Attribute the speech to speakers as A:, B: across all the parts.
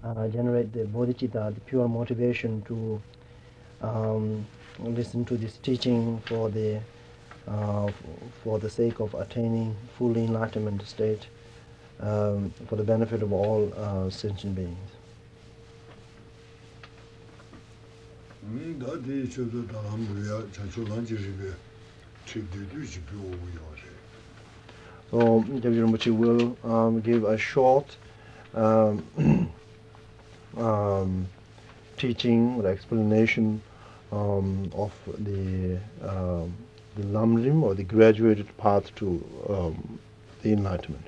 A: generate the bodhicitta, the pure motivation to listen to this teaching for the sake of attaining full enlightenment state, for the benefit of all sentient beings. So Gyabje Rinpoche will give a short teaching or explanation of the Lamrim, or the graduated path to the enlightenment.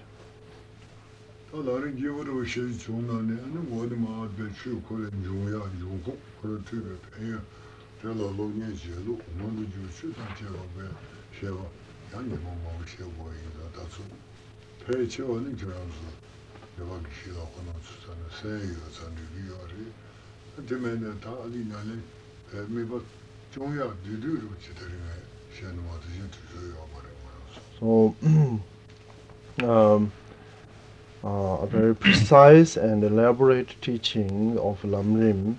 A: So a very precise and elaborate teaching of Lamrim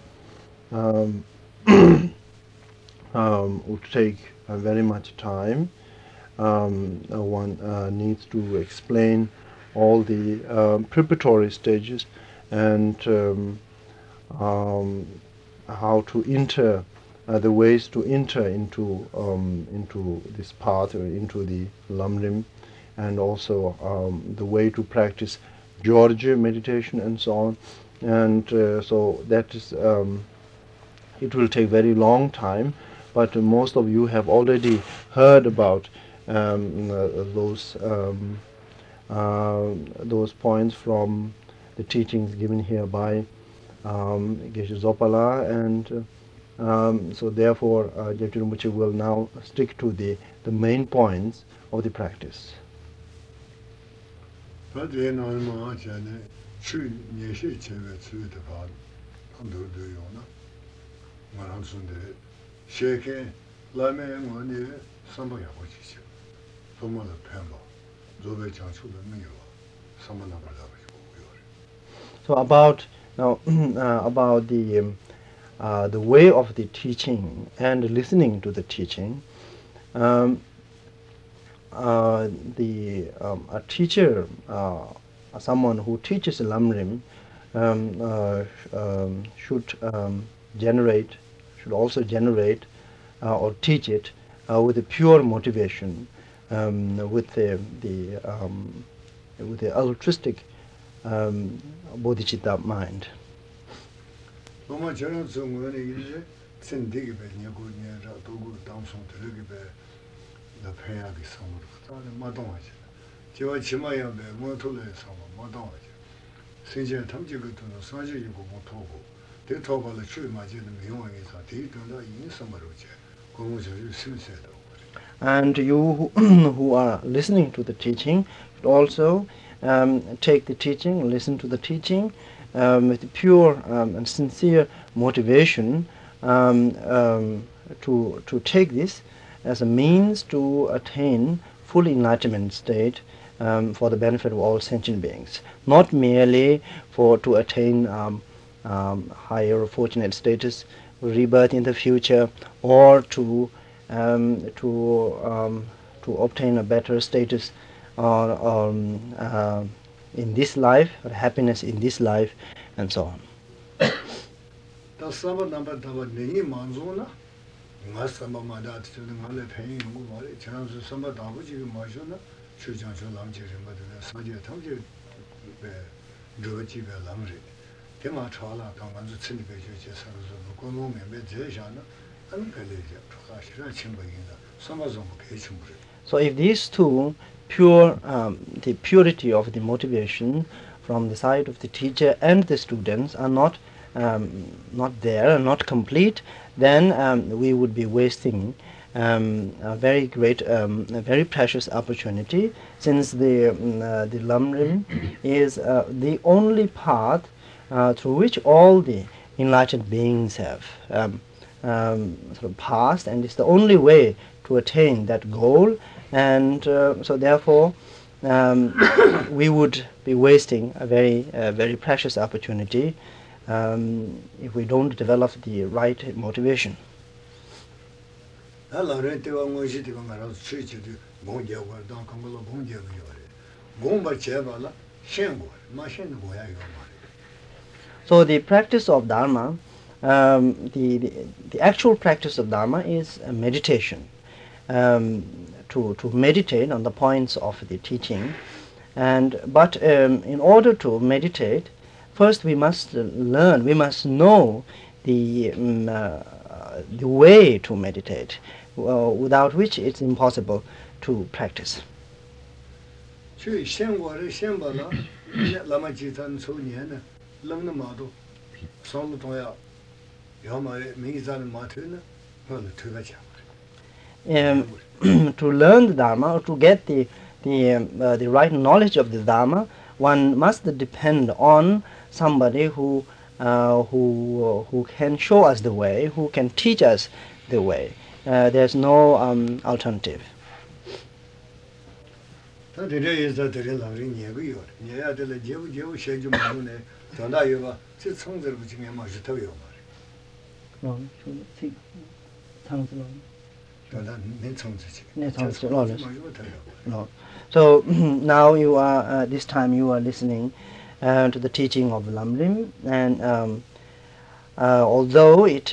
A: would take very much time. One needs to explain all the preparatory stages and how to enter, the ways to enter into this path, or into the Lamrim, and also the way to practice Georgia meditation and so on. And so that is, it will take very long time, but most of you have already heard about those points from the teachings given here by Geshe Zopala, and so therefore Gyabje Rinpoche will now stick to the main points of the practice. So about now about the way of the teaching and listening to the teaching. A teacher, someone who teaches Lamrim, should also generate or teach it with a pure motivation, with the altruistic bodhicitta mind. And you who are listening to the teaching should also take the teaching, listen to the teaching with pure and sincere motivation to take this as a means to attain full enlightenment state for the benefit of all sentient beings, not merely to attain higher fortunate status, rebirth in the future, or to obtain a better status in this life, or happiness in this life, and so on. So if these two, the purity of the motivation from the side of the teacher and the students are not there, not complete, then we would be wasting a very great, a very precious opportunity, since the Lamrim is the only path through which all the enlightened beings have sort of passed, and it's the only way to attain that goal. And so therefore we would be wasting a very precious opportunity if we don't develop the right motivation. So the practice of Dharma, the actual practice of Dharma is meditation. To meditate on the points of the teaching, but in order to meditate, first we must learn, we must know the way to meditate, without which it's impossible to practice. To learn the Dharma, or to get the right knowledge of the Dharma, one must depend on somebody who can show us the way, who can teach us the way. There's no alternative. No. So now you are this time you are listening to the teaching of Lamrim, and although it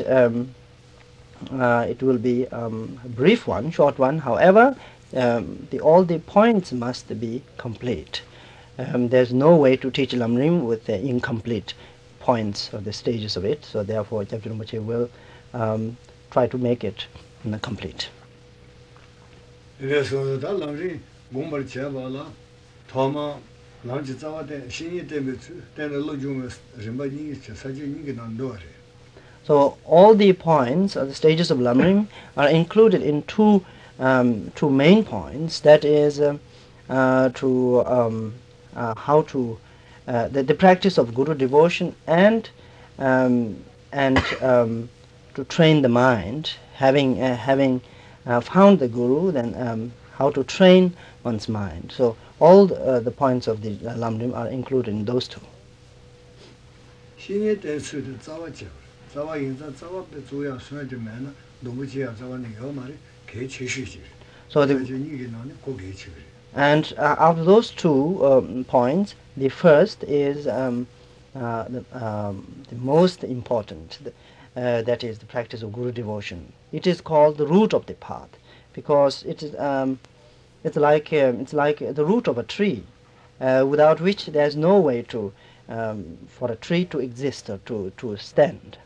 A: will be a brief one, short one, however, all the points must be complete. There's no way to teach Lamrim with the incomplete points or the stages of it. So therefore, Gyabchen Rinpoche will try to make it complete. So all the points or the stages of Lamrim are included in two main points. That is how to the practice of Guru devotion and to train the mind. Having found the Guru, then how to train one's mind. So all the points of the Lamrim are included in those two. So and out of those two points, the first is the most important. That is the practice of Guru devotion. It is called the root of the path, because it is it's like the root of a tree, without which there is no way to for a tree to exist or to stand.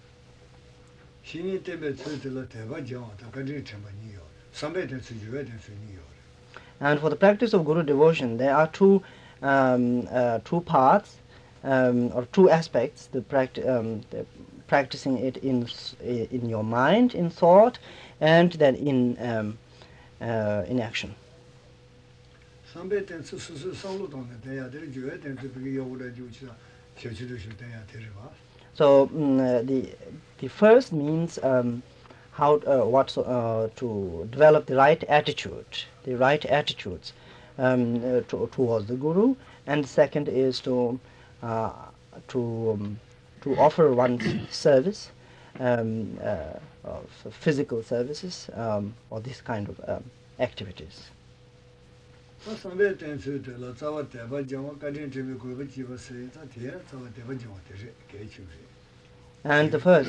A: And for the practice of Guru devotion, there are two paths or two aspects: the practicing it in your mind, in thought, and then in action. So the first means how to develop the right attitudes towards the Guru, and the second is to offer one's service, of physical services, or this kind of activities. And the first,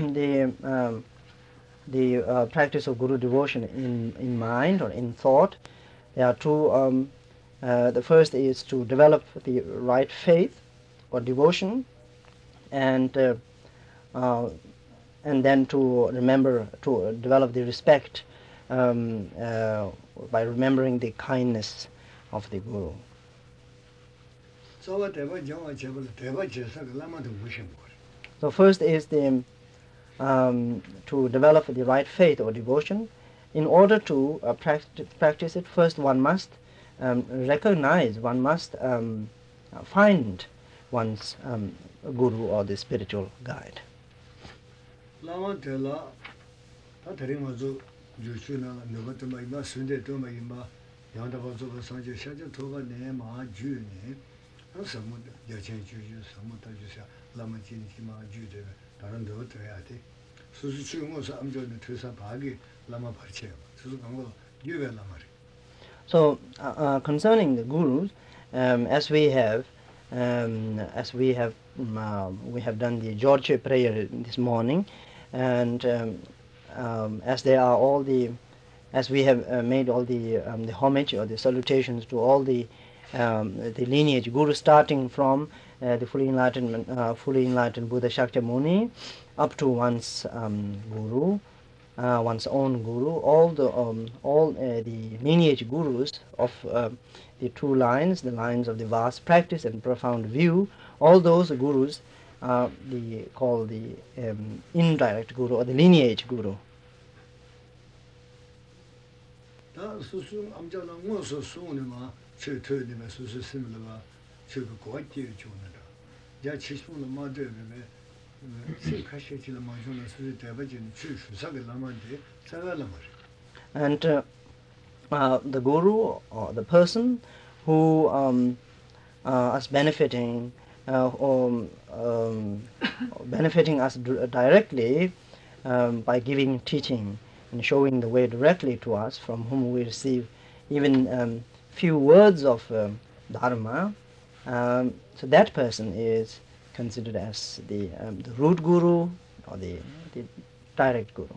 A: the practice of Guru devotion in mind or in thought, there are two. The first is to develop the right faith or devotion, and then to develop the respect by remembering the kindness of the Guru. So first is the to develop the right faith or devotion. In order to practice it, first one must recognize, one must find one's Guru or the spiritual guide. So concerning the gurus, as we have done the George prayer this morning, and as they are all the as we have made all the homage or the salutations to all the lineage guru, starting from the fully enlightened Buddha Shakyamuni up to one's guru, one's own guru, all the lineage gurus of the two lines, the lines of the vast practice and profound view, all those gurus are called the indirect guru or the lineage guru. And the guru or the person who is benefiting benefiting us directly by giving teaching and showing the way directly to us, from whom we receive even few words of dharma, so that person is considered as the root guru or the direct guru.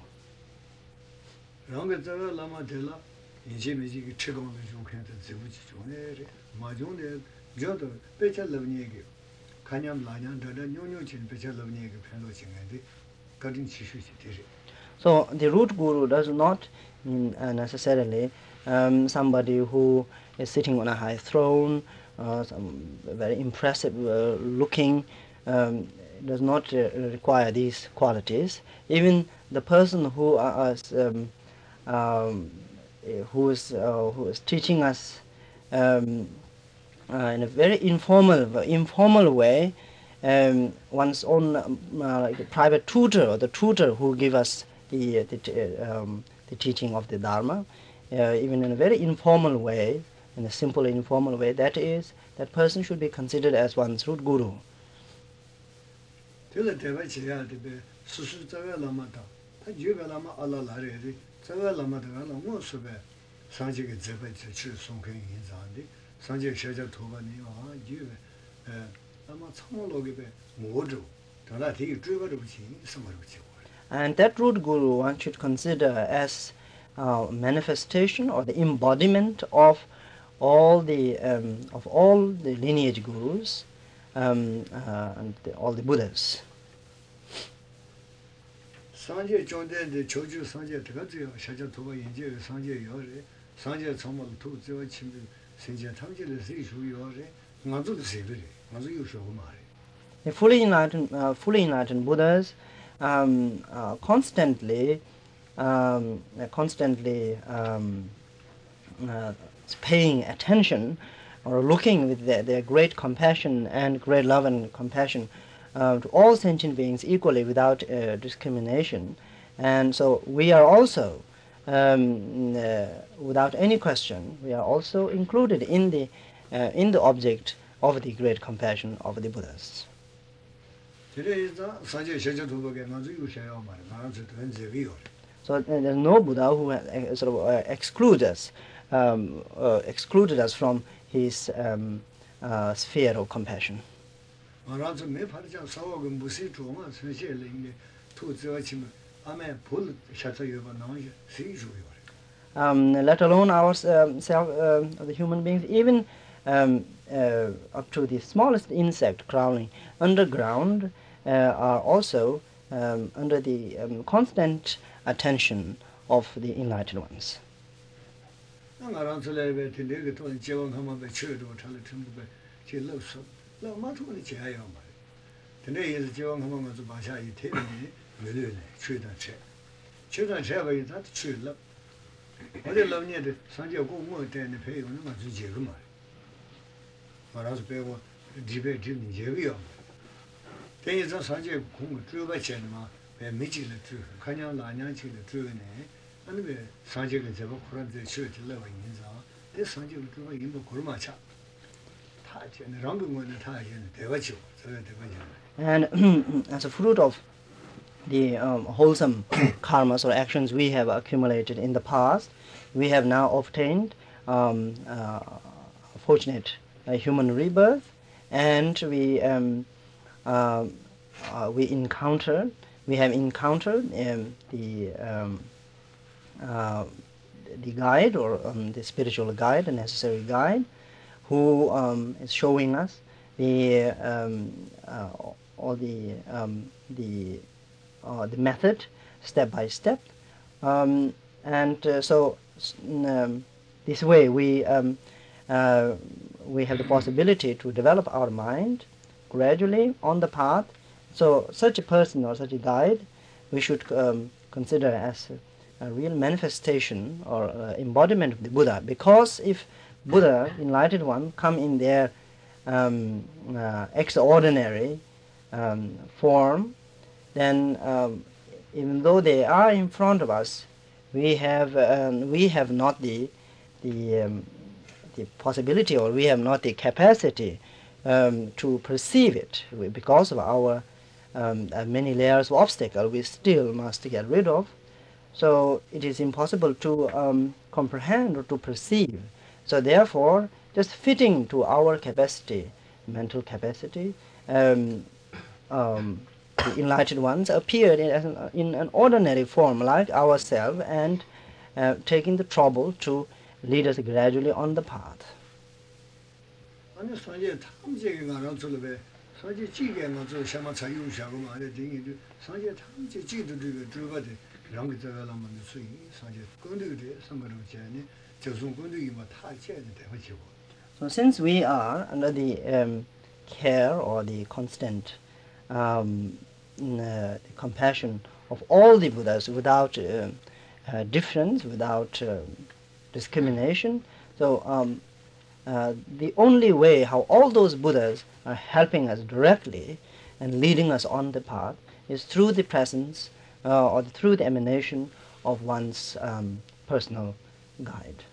A: So the root guru does not mean necessarily somebody who is sitting on a high throne, some very impressive looking, does not require these qualities. Even the person who is teaching us in a very informal way, one's own like a private tutor or the tutor who give us the teaching of the Dharma, even in a very informal way, in a simple informal way, that person should be considered as one's root guru. And that root guru one should consider as manifestation or the embodiment of all the lineage gurus and all the Buddhas.
B: Sanje Jonde de Choju Sanje Tagazu Shaja Toba Yenje Sanje Yore Sanje Chomal Tu Zio Chimbi Sinja Tamji Le Sishu Yore Mazu the Sibiri Mazu Yusho Mari.
A: The fully enlightened Buddhas constantly paying attention or looking with their great compassion and great love and compassion to all sentient beings equally without discrimination. And so we are also, without any question, we are also included in the object of the great compassion of the Buddhas. So there's no Buddha who sort of excluded us from his sphere of compassion. Let alone ourselves, the human beings, even up to the smallest insect crawling underground, are also under the constant attention of the enlightened ones. And as a fruit of the wholesome karmas or actions we have accumulated in the past, we have now obtained fortunate human rebirth, and we have encountered the guide, or the spiritual guide, the necessary guide, who is showing us the method step by step, so this way we have the possibility to develop our mind gradually on the path. So such a person or such a guide we should consider as a real manifestation or embodiment of the Buddha, because if Buddha, enlightened one, come in their extraordinary form, then even though they are in front of us, we have not the possibility, or we have not the capacity to perceive it, because of our many layers of obstacle we still must get rid of. So it is impossible to comprehend or to perceive. So therefore, just fitting to our capacity, mental capacity, the enlightened ones appeared in an ordinary form like ourselves, and taking the trouble to lead us gradually on the path. So since we are under the care or the constant compassion of all the Buddhas without difference, without discrimination, so the only way how all those Buddhas are helping us directly and leading us on the path is through the presence or through the emanation of one's personal guide.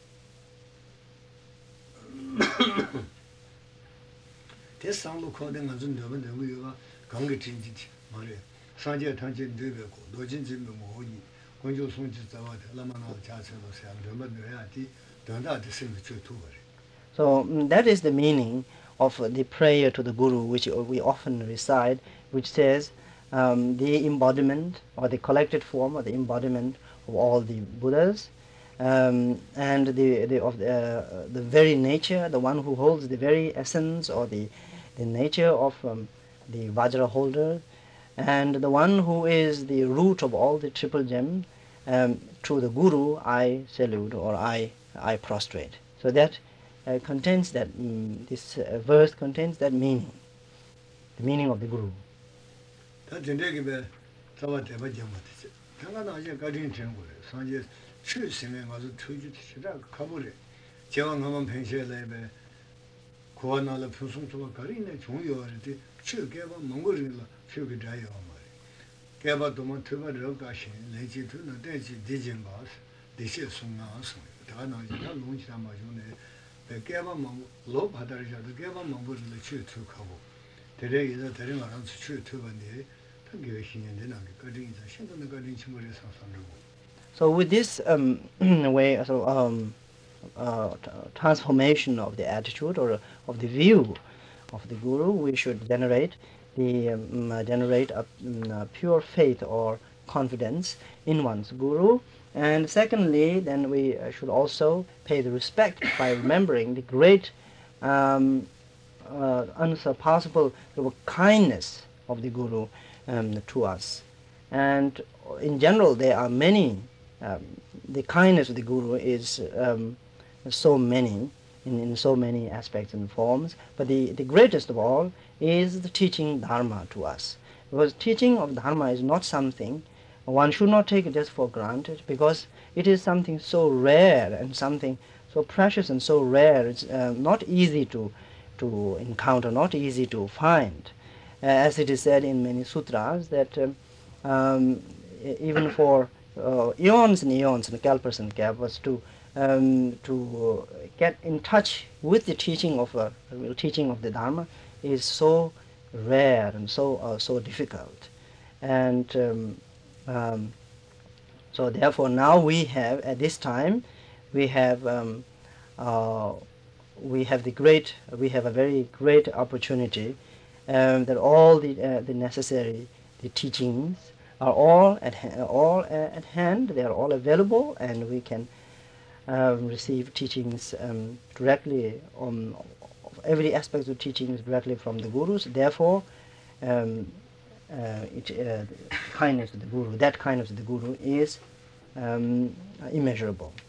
A: So that is the meaning of the prayer to the Guru, which we often recite, which says the embodiment or the collected form or the embodiment of all the Buddhas, and the very nature, the one who holds the very essence or the nature of the Vajra holder, and the one who is the root of all the triple gems. To the Guru I salute, or I prostrate. So that contains that, this verse contains that meaning, the meaning of the Guru. So with this way, transformation of the attitude or of the view of the Guru, we should generate a pure faith or confidence in one's Guru. And secondly, then we should also pay the respect by remembering the great unsurpassable kindness of the Guru to us. And in general, there are many, the kindness of the Guru is so many, in so many aspects and forms, but the greatest of all is the teaching Dharma to us. Because teaching of Dharma is not something, one should not take it just for granted, because it is something so rare and something so precious and so rare. It's not easy to encounter, not easy to find. As it is said in many sutras, that even for eons and eons, and kalpas and kalpas, to get in touch with the teaching of the Dharma is so rare and so difficult, and so therefore now we have, at this time, we have a very great opportunity, that all the necessary teachings are all at hand. They are all available, and we can receive teachings directly of every aspect of teachings directly from the gurus. Therefore, kindness of the guru, that kindness of the guru is immeasurable.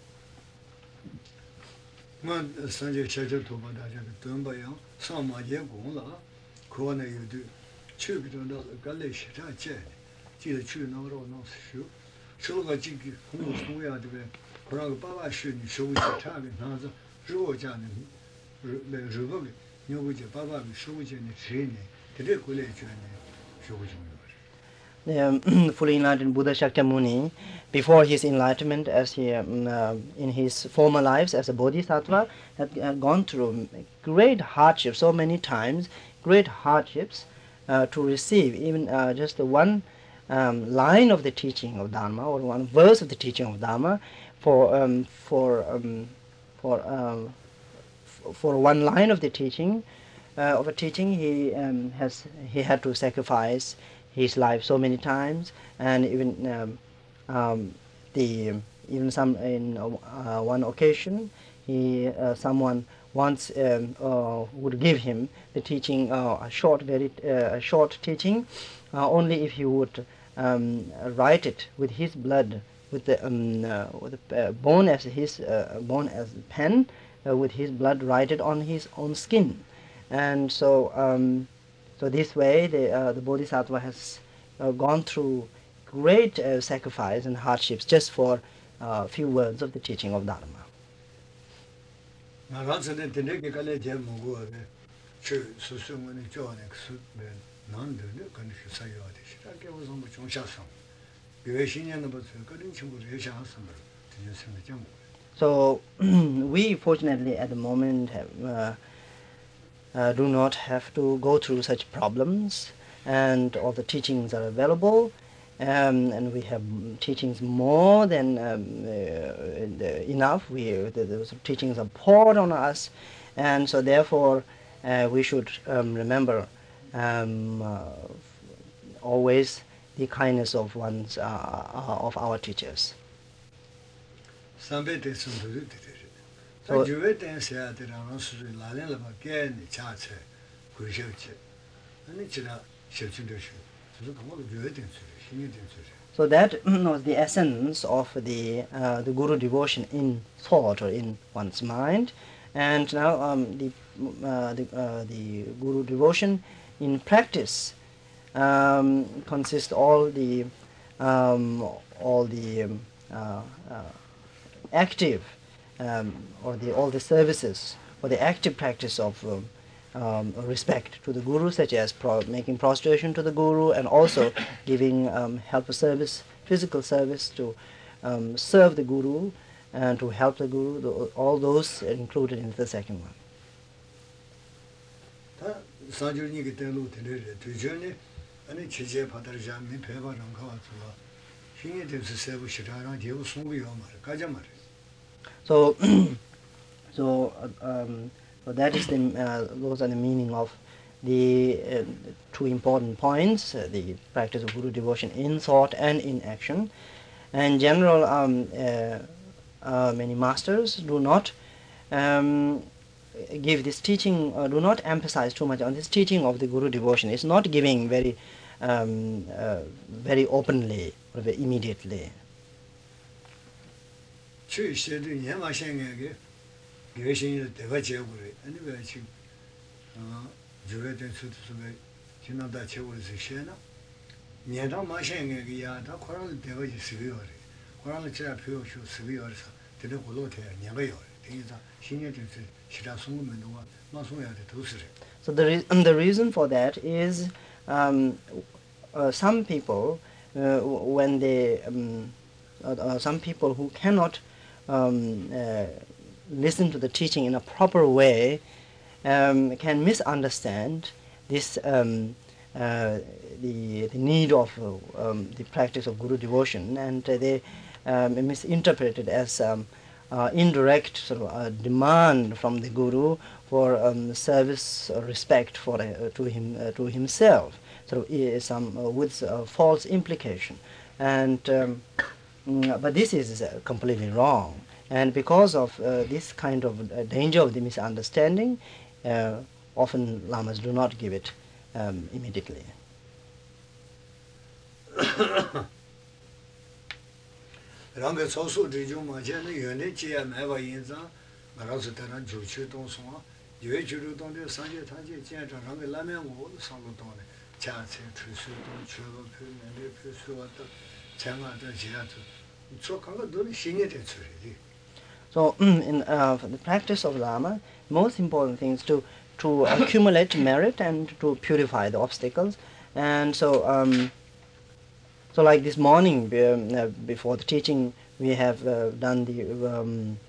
A: Fully enlightened Buddha Shakyamuni, before his enlightenment, as he in his former lives as a bodhisattva, had gone through great hardships, so many times, great hardships to receive even just the one line of the teaching of Dharma, or one verse of the teaching of Dharma. For one line of the teaching, he had to sacrifice his life so many times, and even one occasion, someone once would give him the teaching, a short teaching, only if he would write it with his blood, with the bone as pen, with his blood, write it on his own skin. And so this way the bodhisattva has gone through great sacrifice and hardships just for a few words of the teaching of Dharma. So we fortunately at the moment do not have to go through such problems, and all the teachings are available, and we have teachings more than enough. Those teachings are poured on us, and so therefore we should remember always the kindness of of our teachers. So, so that was the essence of the guru devotion in thought or in one's mind, and now the guru devotion in practice consists all the active all the services, or the active practice of respect to the guru, such as making prostration to the guru, and also giving help service, physical service to serve the guru and to help the guru. All those are included in the second one. So that is those are the meaning of the two important points: the practice of guru devotion in thought and in action. And in general, many masters do not give this teaching, do not emphasize too much on this teaching of the guru devotion. It's not giving very openly or very immediately. So the reason for that is some people when they some people who cannot listen to the teaching in a proper way can misunderstand this the need of the practice of Guru devotion, and they misinterpret it as indirect sort of demand from the Guru for service or respect for to himself, so with false implication, and but this is completely wrong. And because of this kind of danger of the misunderstanding, often lamas do not give it immediately.
B: rāngā tsōsū rīchū mācchā nā yuñi jīyā māyā yīnzā ngā rāsu tērā jūchū tōng sōngā yuñi jūrū tōng tē sāngcē tāngcē jīyā tā rāngā lāmyā ngō sāngā tōng nē chā cē tū sū tōng chū bā pū nē lē pū sū wā tā chā ngā tā jīyā tū tsō kāngā tō nē shīnyā tē tsū rī.
A: So in for the practice of Lama, most important thing is to accumulate merit and to purify the obstacles. And so so like this morning before the teaching, we have done the